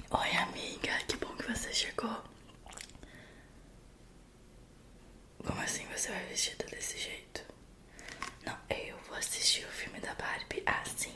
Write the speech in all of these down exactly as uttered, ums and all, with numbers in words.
Oi, amiga, que bom que você chegou. Como assim você vai vestida desse jeito? Não, eu vou assistir o filme da Barbie assim.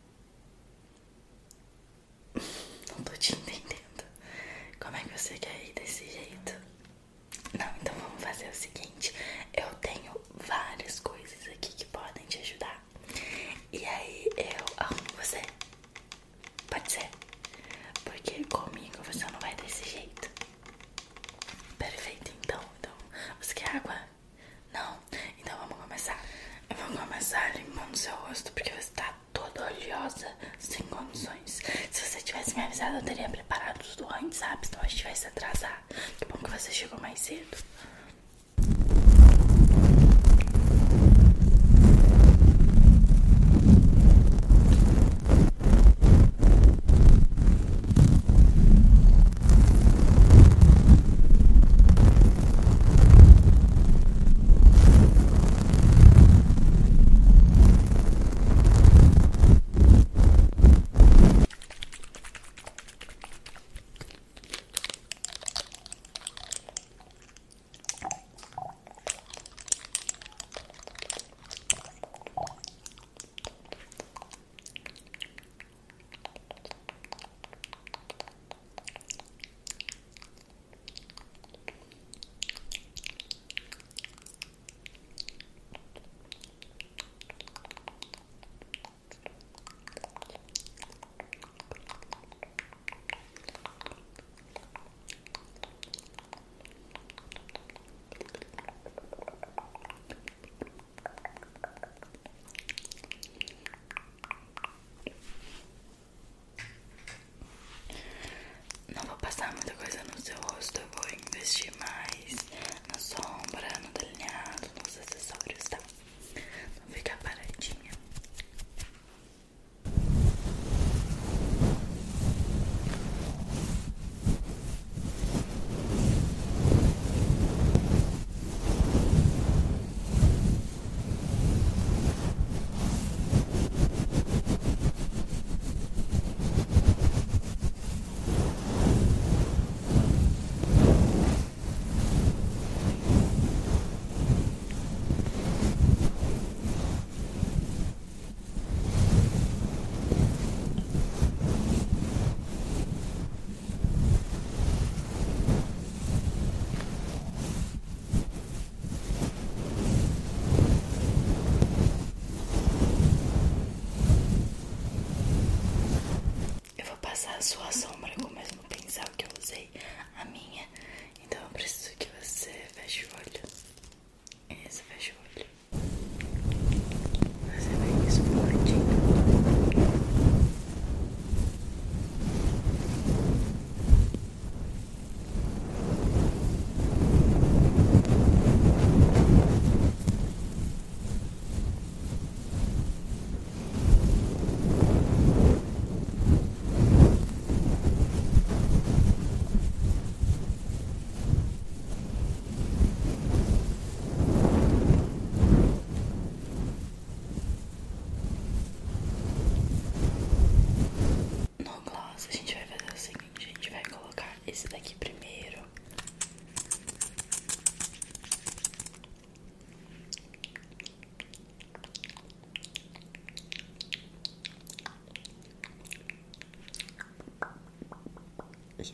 Não tô te entendendo. Como é que você quer ir desse jeito? Não, então vamos fazer o seguinte. Eu tenho várias coisas aqui que podem te ajudar. E aí eu arrumo você. Pode ser? Porque comigo você não vai desse jeito. Perfeito, então. Então, você quer água? Não? Então vamos começar. Eu vou começar limpando seu rosto porque você tá toda oleosa, sem condições. Se você tivesse me avisado, eu teria preparado tudo antes, sabe? Senão a gente vai se atrasar. Que bom que você chegou mais cedo. Não vou passar muita coisa no seu rosto, eu vou investir mais na sombra, no delineado, nos acessórios, tá? Não ficar paradinha. Eu vou passar a sua sombra com o mesmo pincel que eu usei, a minha. Então eu preciso que você feche o olho. Isso, feche o olho. Você vê isso fortinho. No gloss a gente vai fazer o seguinte, a gente vai colocar esse daqui primeiro. Isso.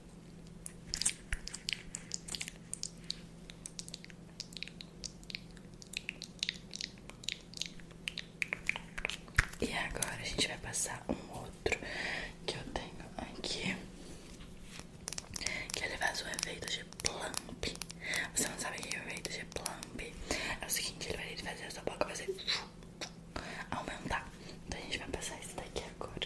E agora a gente vai passar um outro que eu tenho aqui, que ele faz o efeito de plump. Você não sabe o que é o efeito de plump? É o seguinte, ele vai fazer a sua boca fazer aumentar. Então a gente vai passar esse daqui agora.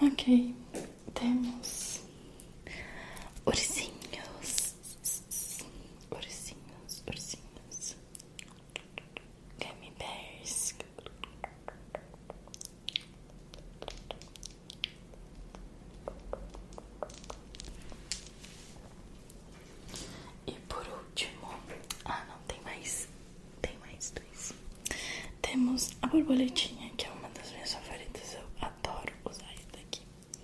Ok, temos ursinhos, ursinhos, ursinhos, gummy bears. E por último, ah não, tem mais, tem mais dois. Temos a borboletinha, que é uma das minhas favoritas, eu adoro usar isso daqui.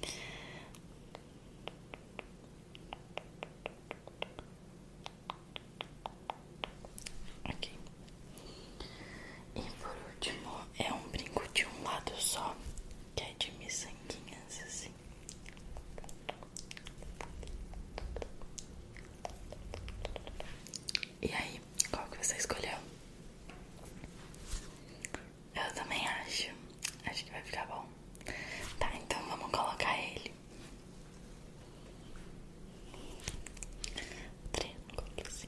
Ok. E por último, é um brinco de um lado só, que é de miçanguinhas, assim. E aí, qual que você escolheu? Eu também acho. Acho que vai ficar bom. Tá, então vamos colocar ele. Triângulo, assim.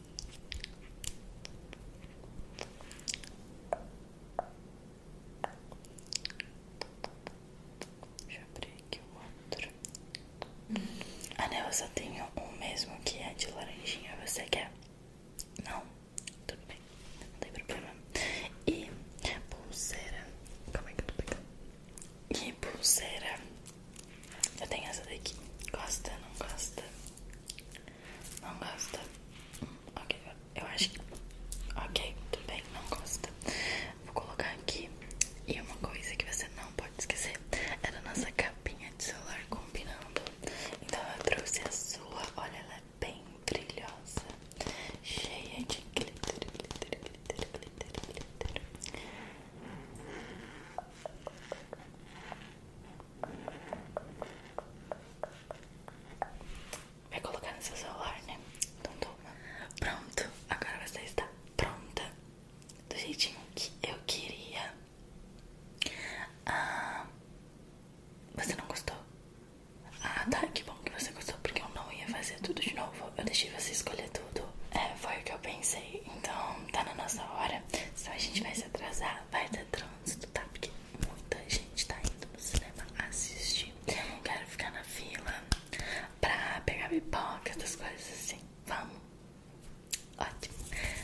Deixa eu abrir aqui o outro. Ah, né, eu só tenho um mesmo que é de laranjinha. Você quer? Não? Tudo bem, não tem problema. E pulseira. Como é que eu tô pegando? E pulseira. Eu tenho essa daqui. Gosta? Não gosta? Não gosta? Hum, ok, eu acho que... Ok, tudo bem, não gosta. Vou colocar aqui. E uma coisa que você não pode esquecer é da nossa capinha de celular combinando. Então eu trouxe a sua. Olha, ela é bem brilhosa, cheia de glitter, glitter, glitter, glitter, glitter. Vai colocar no seu celular, né? Então toma. Pronto, agora você está pronta do jeitinho que eu queria. Ah, você não gostou? Ah, tá, que bom que você gostou, porque eu não ia fazer tudo de novo. Eu deixei você escolher tudo. É, foi o que eu pensei. Então, tá na nossa hora. Senão a gente vai se atrasar, vai ter trânsito, tá? Porque muita gente tá indo no cinema assistir. Eu não quero ficar na fila pra pegar pipoca, essas coisas assim. Vamos? Ótimo.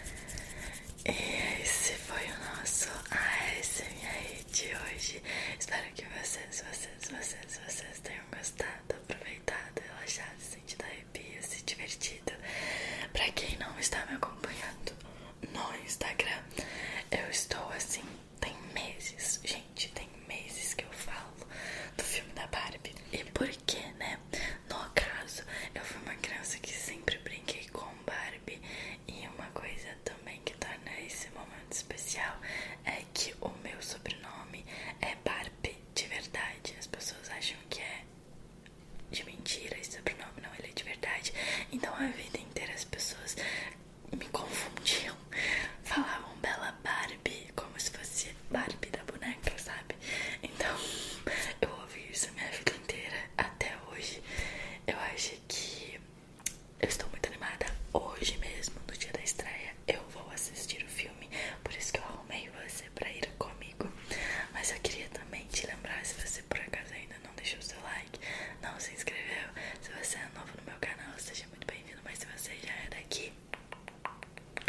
E esse foi o nosso A S M R de hoje. Espero que vocês, vocês, vocês, vocês tenham gostado, aproveitado, relaxado, sentido arrepio, se divertido. Pra quem não está me acompanhando no Instagram, eu estou assim, tem meses, gente, tem meses que eu falo do filme da Barbie. E por quê, né? No caso, eu fui uma criança que sempre brinquei com Barbie. E uma coisa também que torna esse momento especial é que o meu sobrenome é Barbie de verdade. As pessoas acham que é de mentira esse sobrenome, não, ele é de verdade. Então a vida inteira as pessoas me confundiam, falavam Bela Barbie como se fosse Barbie da boneca, sabe? Então eu ouvi isso a minha vida inteira até hoje. Eu acho que eu estou muito animada. Hoje mesmo, no dia da estreia, eu vou assistir o filme. Por isso que eu arrumei você pra ir comigo. Mas eu queria também te lembrar, se você por acaso ainda não deixou o seu like, não se inscreveu, se você é novo no meu canal, seja muito bem-vindo. Mas se você já é daqui,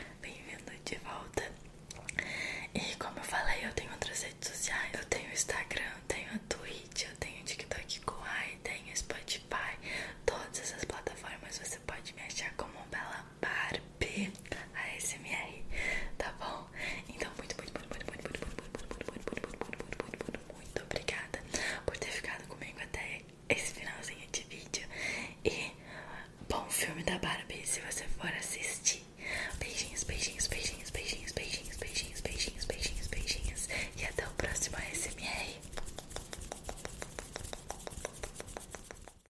bem-vindo de volta. E como eu falei, eu tenho outras redes sociais. Eu tenho o Instagram,